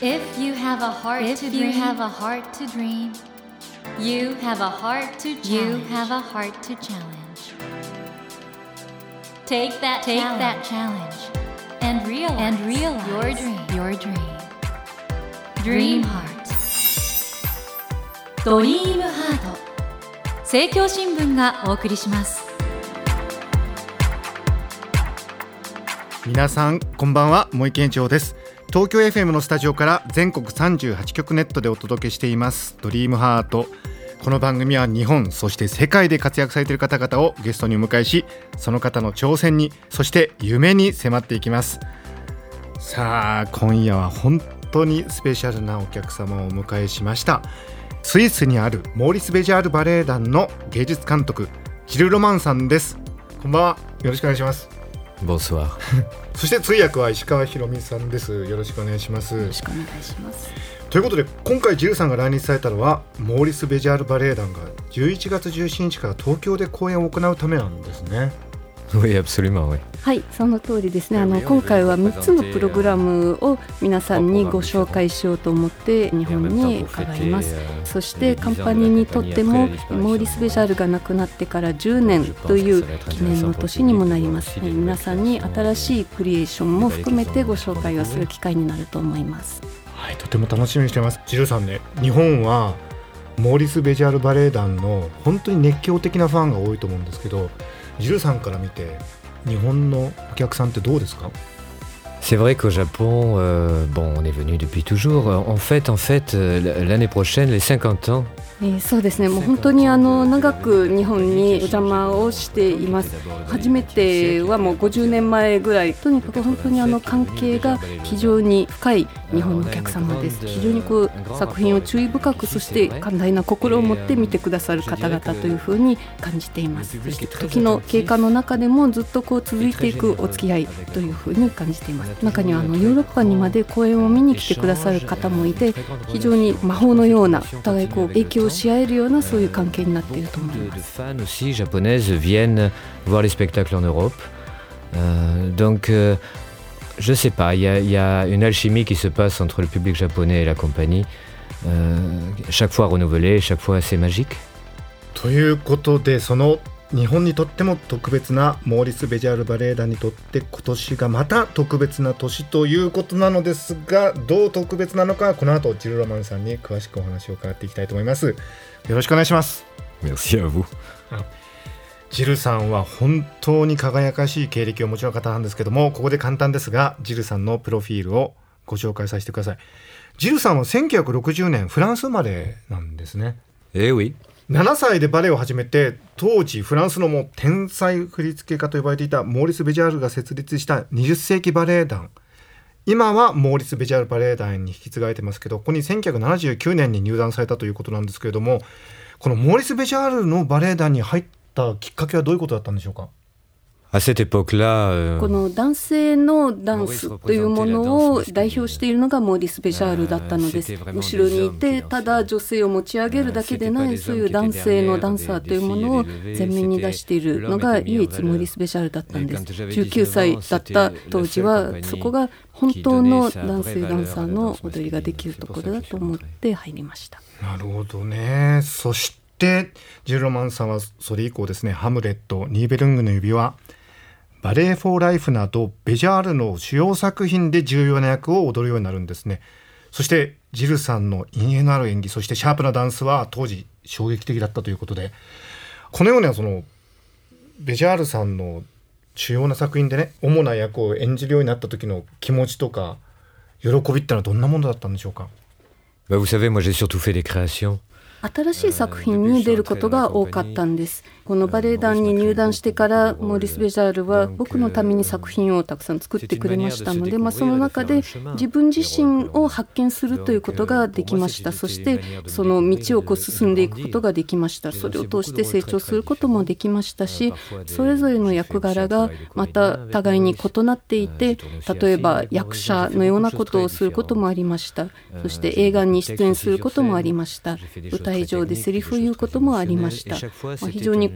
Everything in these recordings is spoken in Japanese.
If you have a heart to dream, you have a heart to dream. You have a heart to challenge. You have a heart to challenge. Take that challenge and realize your dream. Dream Heart. ドリームハート。政教新聞がお送りします。 皆さんこんばんは、森健長です。東京 FM のスタジオから全国38局ネットでお届けしていますドリームハート。この番組は日本そして世界で活躍されている方々をゲストにお迎えし、その方の挑戦にそして夢に迫っていきます。さあ今夜は本当にスペシャルなお客様をお迎えしました。スイスにあるモーリス・ベジャールバレエ団の芸術監督ジル・ロマンさんです。こんばんは、よろしくお願いします。 Bonsoir そして通訳は石川ひろみさんです。よろしくお願いします。 よろしくお願いします。 ということで今回ジルさんが来日されたのはモーリス・ベジャールバレエ団が11月17日から東京で公演を行うためなんですね。 Oui, absolument, oui. はい、その通りですね。今回は3つのプログラムを皆さんにご紹介しようと思って日本に伺います。そしてカンパニーにとってもモーリス・ベジャールが亡くなってから10年という記念の年にもなります。皆さんに新しいクリエーションも含めてご紹介をする機会になると思います。 はい、とても楽しみにしています。ジルさんね、日本はモーリス・ベジャールバレエ団の本当に熱狂的なファンが多いと思うんですけど、ジルさんから見て日本のお客さんってどうですか？ C'est vrai qu'au Japon, on est venu depuis toujours. En fait, l'année prochaine, les 50 ans. そうですね、もう本当に長く日本にお邪魔をしています。初めてはもう50年前ぐらい。とにかく本当に関係が非常に深い日本のお客様です。非常に作品を注意深く、そして寛大な心を持って見てくださる方々というふうに感じています。そして時の経過の中でもずっと続いていくお付き合いというふうに感じています。中にはヨーロッパにまで公演を見に来てくださる方もいて、非常に魔法のような、お互い影響し合えるようなそういう関係になっていると思います。 Les fans aussi japonaises viennent voir les spectacles en Europe. Donc, je sais pas, il y a une alchimie qui se passe entre le public japonais et la compagnie. Chaque fois renouvelée, chaque fois assez magique. ということで、その日本にとっても特別なモーリス・ベジャールバレエ団にとって今年がまた特別な年ということなのですが、どう特別なのかこの後ジル・ロマンさんに詳しくお話を伺っていきたいと思います。よろしくお願いします。 Merci à vous. ジルさんは本当に輝かしい経歴をお持ちの方なんですけども、ここで簡単ですがジルさんのプロフィールをご紹介させてください。ジルさんは1960年フランス生まれなんですね。 oui. 7歳でバレエを始めて、当時フランスのもう天才振付家と呼ばれていたモーリス・ベジャールが設立した20世紀バレエ団、今はモーリス・ベジャールバレエ団に引き継がれてますけど、ここに1979年に入団されたということなんですけれども、このモーリス・ベジャールのバレエ団に入ったきっかけはどういうことだったんでしょうか？ À cette époque-là, この男性のダンスというものを代表しているのがモーリス・ベジャールだったのです。後ろにいてただ女性を持ち上げるだけでない、そういう男性のダンサーというものを前面に出しているのが唯一モーリス・ベジャールだったんです。19歳だった当時はそこが本当の男性ダンサーの踊りができるところだと思って入りました。 なるほどね。そしてジル・ロマンさんはそれ以降ですね、ハムレット、ニーベルングの指輪、バレエフォーライフなどベジャールの主要作品で重要な役を踊るようになるんですね。そしてジルさんの陰影のある演技、そしてシャープなダンスは当時衝撃的だったということで、このようなそのベジャールさんの主要な作品でね、主な役を演じるようになった時の気持ちとか喜びってのはどんなものだったんでしょうか？ vous savez, moi j'ai surtout fait des créations. 新しい作品に出ることが多かったんです。このバレエ団に入団してからモーリス・ベジャールは僕のために作品をたくさん作ってくれましたので、その中で自分自身を発見するということができました。そしてその道を進んでいくことができました。それを通して成長することもできましたし、それぞれの役柄がまた互いに異なっていて、例えば役者のようなことをすることもありました。そして映画に出演することもありました。舞台上でセリフを言うこともありました。非常に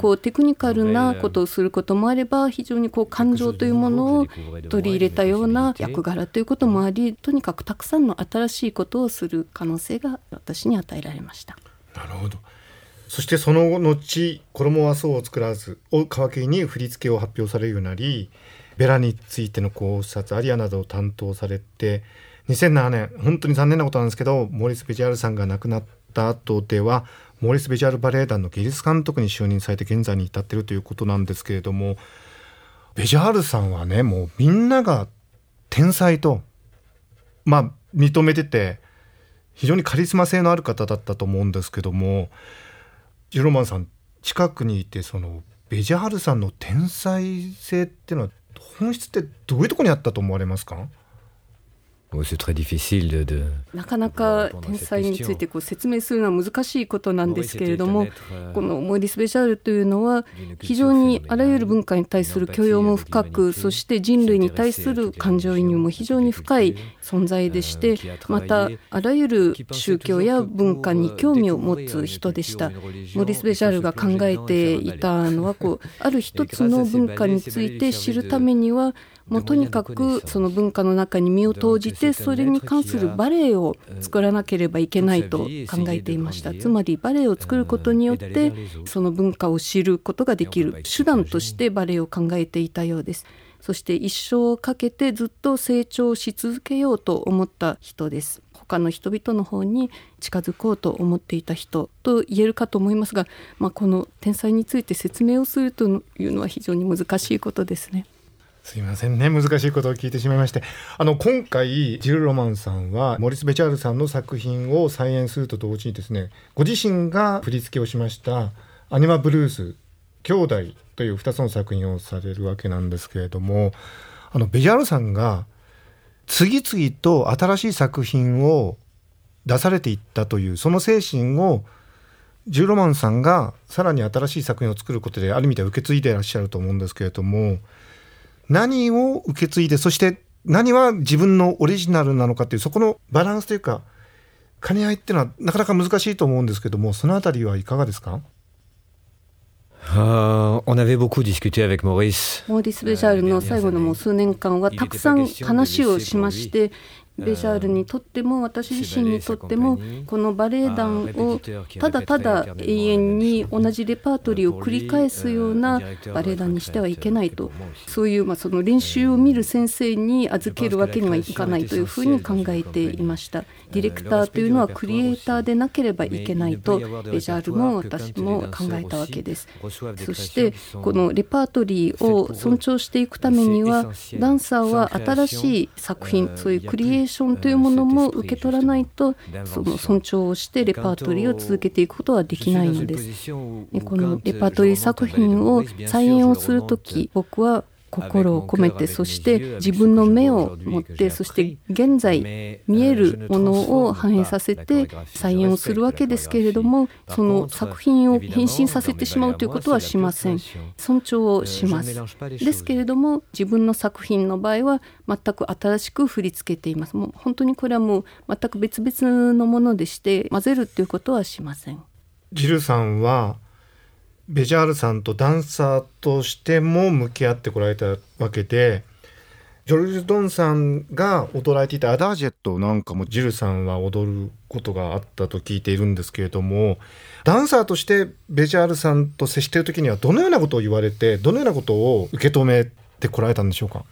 こうテクニカルなことをすることもあれば、非常にこう感情というものを取り入れたような役柄ということもあり、とにかくたくさんの新しいことをする可能性が私に与えられました。 なるほど。そしてその後、衣はそうを作らずを皮切りに振り付けを発表されるようになり、ベラについての考察、アリアなどを担当されて、2007年、本当に残念なことなんですけど、モーリス・ベジャールさんが亡くなった後ではモーリス・ベジャールバレエ団の芸術監督に就任されて現在に至っているということなんですけれども、ベジャールさんはね、もうみんなが天才と、認めてて、非常にカリスマ性のある方だったと思うんですけども、ジローマンさん近くにいて、そのベジャールさんの天才性っていうのは本質ってどういうところにあったと思われますか？ なかなか天才についてこう説明するのは難しいことなんですけれども、このモーリス・ベジャールというのは非常にあらゆる文化に対する許容も深く、そして人類に対する感情移入も非常に深い存在でして、またあらゆる宗教や文化に興味を持つ人でした。モーリス・ベジャールが考えていたのは、ある一つの文化について知るためには、もうとにかくその文化の中に身を投じて、それに関するバレエを作らなければいけないと考えていました。つまりバレエを作ることによってその文化を知ることができる手段としてバレエを考えていたようです。そして一生をかけてずっと成長し続けようと思った人です。他の人々の方に近づこうと思っていた人と言えるかと思いますが、この天才について説明をするというのは非常に難しいことですね。 すいませんね、難しいことを聞いてしまいまして、今回ジル・ロマンさんはモーリス・ベジャールさんの作品を再演すると同時にですね、ご自身が振り付けをしましたアニマ・ブルース兄弟という2つの作品をされるわけなんですけれども、ベジャールさんが次々と新しい作品を出されていったという、その精神をジル・ロマンさんがさらに新しい作品を作ることである意味では受け継いでいらっしゃると思うんですけれども、何を受け継いで、そして何は自分のオリジナルなのかという、そこのバランスというか兼ね合いっていうのはなかなか難しいと思うんですけども、そのあたりはいかがですか on avait beaucoup discuté avec Maurice. モーリス・ベジャールの最後のもう数年間はたくさん話をしまして、ベジャールにとっても私自身にとっても、このバレエ団をただただ永遠に同じレパートリーを繰り返すようなバレエ団にしてはいけないと、そういうその練習を見る先生に預けるわけにはいかないというふうに考えていました。ディレクターというのはクリエイターでなければいけないとベジャールも私も考えたわけです。そしてこのレパートリーを尊重していくためには、ダンサーは新しい作品、そういうクリエイションというものも受け取らないと、その尊重をしてレパートリーを続けていくことはできないのです。このレパートリー作品を再演をするとき、僕は心を込めて、そして自分の目を持って、そして現在見えるものを反映させて再演をするわけですけれども、その作品を変身させてしまうということはしません。尊重をします。ですけれども、自分の作品の場合は全く新しく振り付けています。もう本当にこれはもう全く別々のものでして、混ぜるということはしません。 ジルさんはベジャールさんとダンサーとしても向き合ってこられたわけで、ジョルジュ・ドンさんが踊られていたアダージェットなんかもジルさんは踊ることがあったと聞いているんですけれども、ダンサーとしてベジャールさんと接している時にはどのようなことを言われて、どのようなことを受け止めてこられたんでしょうか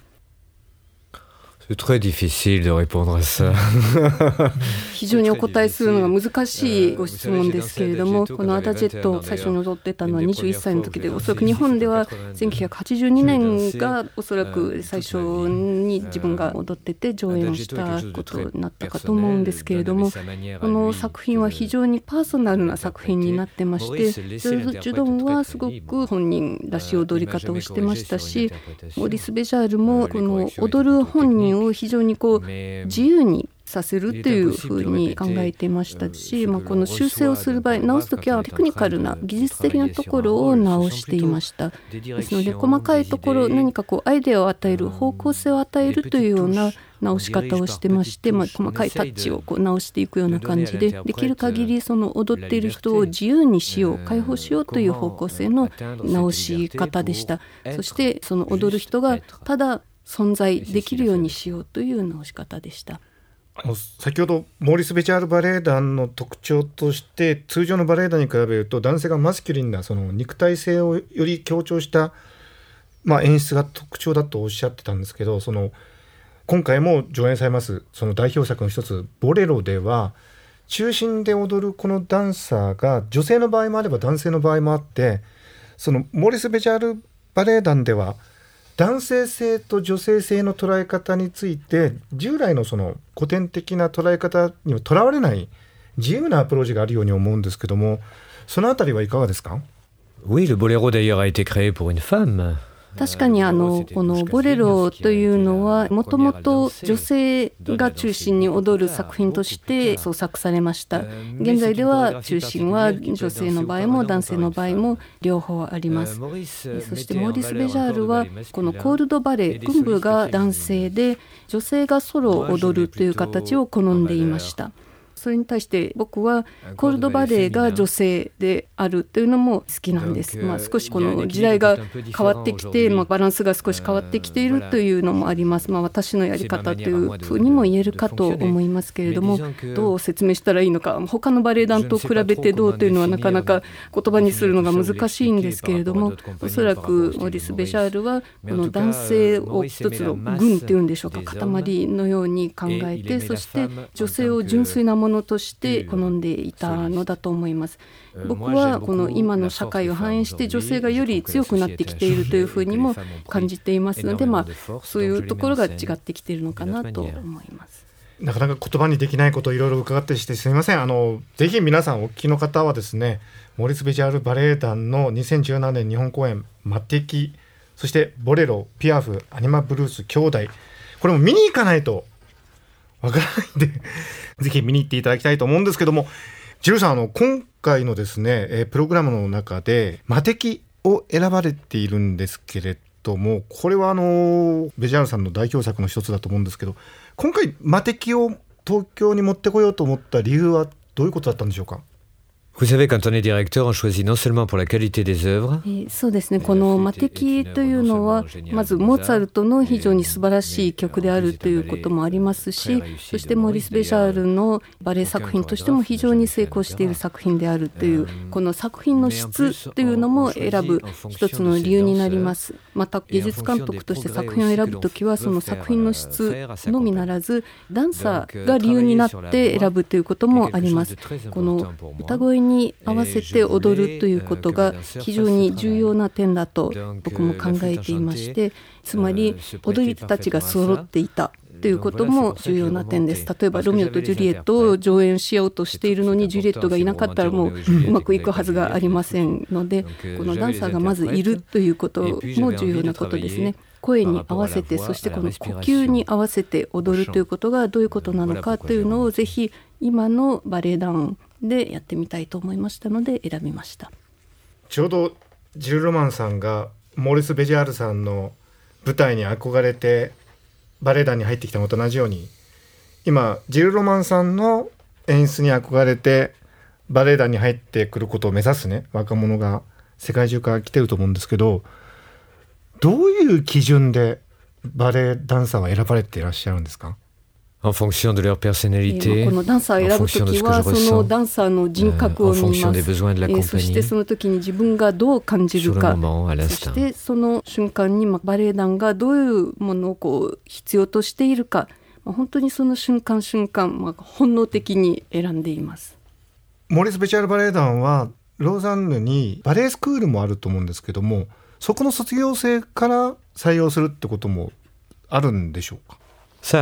C'est très difficile de répondre à ça. 非常にお答えするのが難しいご質問ですけれども、このアダジェットを最初に踊ってたのは21歳の時で、おそらく日本では1982年がおそらく最初に自分が踊ってて上演をしたことになったかと思うんですけれども、この作品は非常にパーソナルな作品になってまして、ジョルジュ・ドンはすごく本人らしい踊り方をしてましたし、モーリス・ベジャールもこの踊る本人を非常に自由にさせるというふうに考えていましたし、この修正をする場合、直すときはテクニカルな技術的なところを直していました。ですので細かいところ、何かアイデアを与える、方向性を与えるというような直し方をしてまして、細かいタッチを直していくような感じで、できる限りその踊っている人を自由にしよう、解放しようという方向性の直し方でした。そしてその踊る人がただ存在できるようにしようという直し方でした。 先ほどモーリス・ベチャールバレエ団の特徴として、通常のバレエ団に比べると男性がマスキュリンなその肉体性をより強調した、演出が特徴だとおっしゃってたんですけど、今回も上演されますその代表作の一つボレロでは、中心で踊るこのダンサーが女性の場合もあれば男性の場合もあって、そのモーリス・ベチャールバレエ団では男性性と女性性の捉え方について、従来のその古典的な捉え方にはとらわれない自由なアプローチがあるように思うんですけども、そのあたりはいかがですか？ Oui, le boléro d'ailleurs a été créé pour une femme. 確かにこのボレロというのはもともと女性が中心に踊る作品として創作されました。現在では中心は女性の場合も男性の場合も両方あります。そしてモーリス・ベジャールはこのコールドバレエ、群舞が男性で女性がソロを踊るという形を好んでいました。それに対して僕はコールドバレエが女性であるというのも好きなんです。少しこの時代が変わってきて、バランスが少し変わってきているというのもあります。私のやり方というふうにも言えるかと思いますけれども、どう説明したらいいのか、他のバレエ団と比べてどうというのはなかなか言葉にするのが難しいんですけれども、おそらくモーリス・ベジャールはこの男性を一つの群っていうんでしょうか、塊のように考えて、そして女性を純粋なものとして好んでいたのだと思います。僕はこの今の社会を反映して女性がより強くなってきているというふうにも感じていますので、そういうところが違ってきているのかなと思います。 なかなか言葉にできないことをいろいろ伺ってしてすみません。ぜひ皆さんお聞きの方はですね、モーリス・ベジャールバレエ団の2017年日本公演マテキ、そしてボレロ、ピアフ、アニマ・ブルース、兄弟、これも見に行かないとわからないんでぜひ見に行っていただきたいと思うんですけども、ジルさん、今回のですね、プログラムの中でマテキを選ばれているんですけれども、これはベジャールさんの代表作の一つだと思うんですけど、今回マテキを東京に持ってこようと思った理由はどういうことだったんでしょうか？ Vous savez, quand on est directeur, on choisit non seulement pour la qualité des œuvres. そうですね、このマテキというのはまずモーツァルトの非常に素晴らしい曲であるということもありますし、そしてモーリス・ベジャールのバレエ作品としても非常に成功している作品であるという、この作品の質というのも選ぶ一つの理由になります。また芸術監督として作品を選ぶときは、その作品の質のみならずダンサーが理由になって選ぶということもあります。この歌声に合わせて踊るということが非常に重要な点だと僕も考えていまして、つまり踊り手たちが揃っていたということも重要な点です。例えばロミオとジュリエットを上演しようとしているのにジュリエットがいなかったらもううまくいくはずがありませんので、このダンサーがまずいるということも重要なことですね。声に合わせて、そしてこの呼吸に合わせて踊るということがどういうことなのかというのをぜひ今のバレエ団でやってみたいと思いましたので選びました。 ちょうどジル・ロマンさんがモーリス・ベジャールさんの舞台に憧れてバレエ団に入ってきたのと同じように、今ジル・ロマンさんの演出に憧れてバレエ団に入ってくることを目指すね、若者が世界中から来てると思うんですけど、どういう基準でバレエダンサーは選ばれていらっしゃるんですか ？En fonction de leur personnalité, このダンサーを選ぶときはそのダンサーの人格を見ます。そしてその時に自分がどう感じるか、そしてその瞬間にバレエ団がどういうものを必要としているか、本当にその瞬間瞬間、本能的に選んでいます。 モーリス・ベチャールバレエ団はローザンヌにバレエスクールもあると思うんですけども、そこの卒業生から採用するってこともあるんでしょうか？ Ça arrive.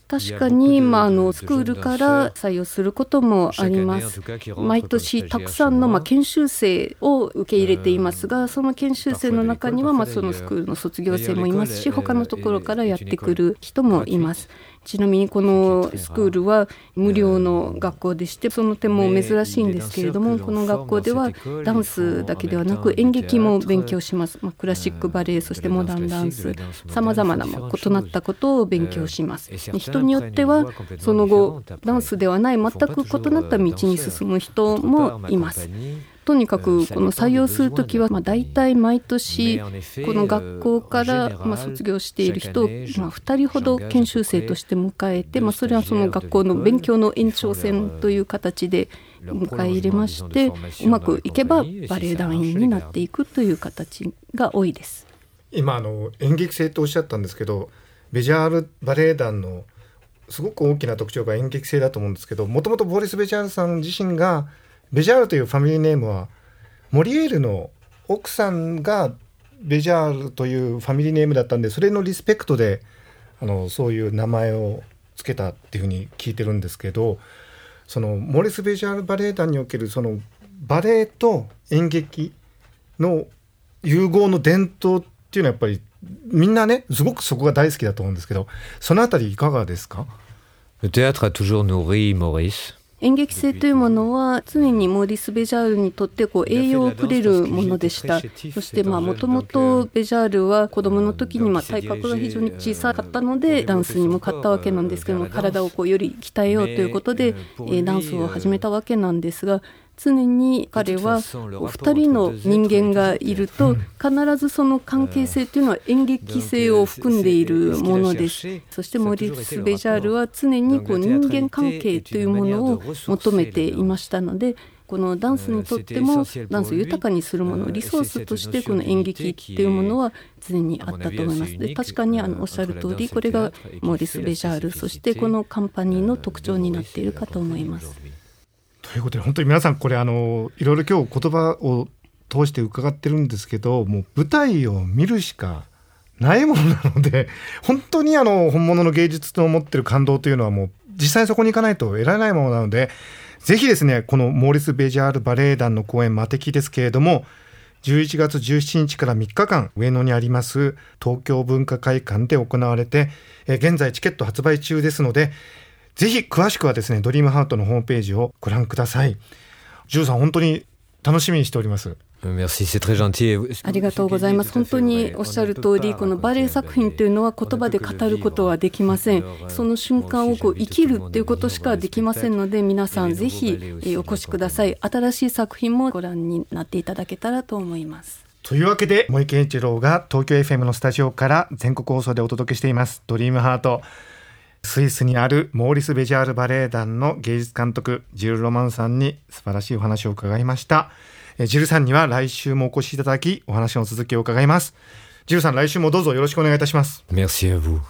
確かに、スクールから採用することもあります。毎年たくさんの研修生を受け入れていますが、その研修生の中にはそのスクールの卒業生もいますし、他のところからやってくる人もいます。ちなみにこのスクールは無料の学校でして、その点も珍しいんですけれども、この学校ではダンスだけではなく演劇も勉強します。クラシックバレエ、そしてモダンダンス、さまざまな異なったことを勉強します。人によってはその後ダンスではない全く異なった道に進む人もいます。とにかくこの採用するときはだいたい毎年この学校から卒業している人を2人ほど研修生として迎えて、それはその学校の勉強の延長線という形で迎え入れまして、うまくいけばバレエ団員になっていくという形が多いです。 今演劇性とおっしゃったんですけど、ベジャールバレエ団のすごく大きな特徴が演劇性だと思うんですけど、もともとボリス・ベジャールさん自身がベジャールというファミリーネームはモリエールの奥さんがベジャールというファミリーネームだったんで、それのリスペクトでそういう名前をつけたっていうふうに聞いてるんですけど、そのモリス・ベジャールバレエ団におけるそのバレエと演劇の融合の伝統っていうのはやっぱりみんなね、すごくそこが大好きだと思うんですけど、そのあたりいかがですか？ Le théâtre a toujours nourri Maurice。 演劇性というものは常にモーリス・ベジャールにとって栄養をくれるものでした。そしてもともとベジャールは子供の時に体格が非常に小さかったのでダンスに向かったわけなんですけども、体をより鍛えようということでダンスを始めたわけなんですが、常に彼は2人の人間がいると必ずその関係性というのは演劇性を含んでいるものです。そしてモーリス・ベジャールは常に人間関係というものを求めていましたので、このダンスにとってもダンスを豊かにするもの、リソースとしてこの演劇っていうものは常にあったと思います。で、確かにおっしゃる通り、これがモーリス・ベジャール、そしてこのカンパニーの特徴になっているかと思います。 ということで本当に皆さんこれいろいろ今日言葉を通して伺ってるんですけど、もう舞台を見るしかないものなので、本当に本物の芸術の持ってる感動というのはもう実際そこに行かないと得られないものなので、ぜひですね、このモーリス・ベジャールバレエ団の公演マテキですけれども、11月17日から3日間上野にあります東京文化会館で行われて、現在チケット発売中ですので、ぜひ詳しくはですね、ドリームハートのホームページをご覧ください。ジューさん、本当に楽しみにしております。 Merci, c'est très gentil. ありがとうございます。本当におっしゃる通り、このバレエ作品というのは言葉で語ることはできません。その瞬間を生きるということしかできませんので、皆さんぜひお越しください。新しい作品もご覧になっていただけたらと思います。 というわけで、森健一郎が東京 FM のスタジオから全国放送でお届けしていますドリームハート。スイスにあるモーリス・ベジャールバレエ団の芸術監督ジル・ロマンさんに素晴らしいお話を伺いました。ジルさんには来週もお越しいただき、お話の続きを伺います。ジルさん、来週もどうぞよろしくお願いいたします。 Merci à vous.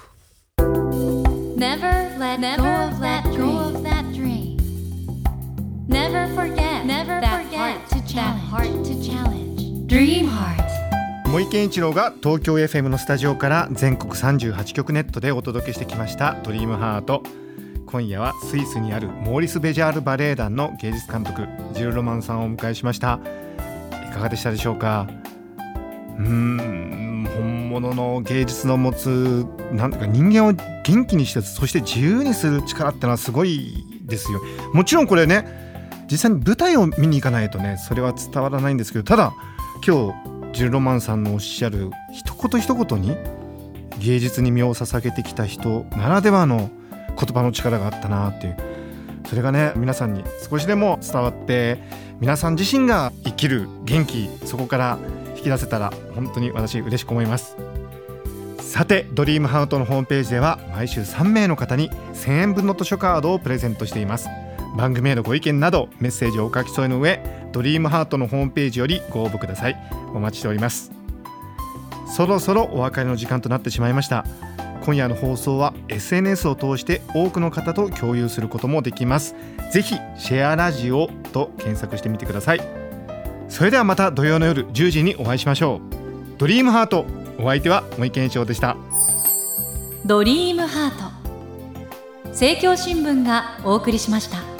Never let go of that dream. Never forget that heart to challenge. Dream Heart. 森健一郎が東京 FM のスタジオから全国38局ネットでお届けしてきましたドリームハート。今夜はスイスにあるモーリス・ベジャールバレエ団の芸術監督ジル・ロマンさんをお迎えしました。いかがでしたでしょうか？本物の芸術の持つなんていうか、人間を元気にして、そして自由にする力ってのはすごいですよ。もちろんこれね、実際に舞台を見に行かないとね、それは伝わらないんですけど、ただ今日ジル・ロマンさんのおっしゃる一言一言に芸術に身を捧げてきた人ならではの言葉の力があったなっていう、それがね、皆さんに少しでも伝わって、皆さん自身が生きる元気、そこから引き出せたら本当に私嬉しく思います。さて、ドリームハートのホームページでは毎週3名の方に1000円分の図書カードをプレゼントしています。番組へのご意見などメッセージをお書き添えの上、ドリームハートのホームページよりご応募ください。お待ちしております。そろそろお別れの時間となってしまいました。今夜の放送は SNS を通して多くの方と共有することもできます。ぜひシェアラジオと検索してみてください。それではまた土曜の夜10時にお会いしましょう。ドリームハート、お相手は森健一郎でした。 ドリームハート政教新聞がお送りしました。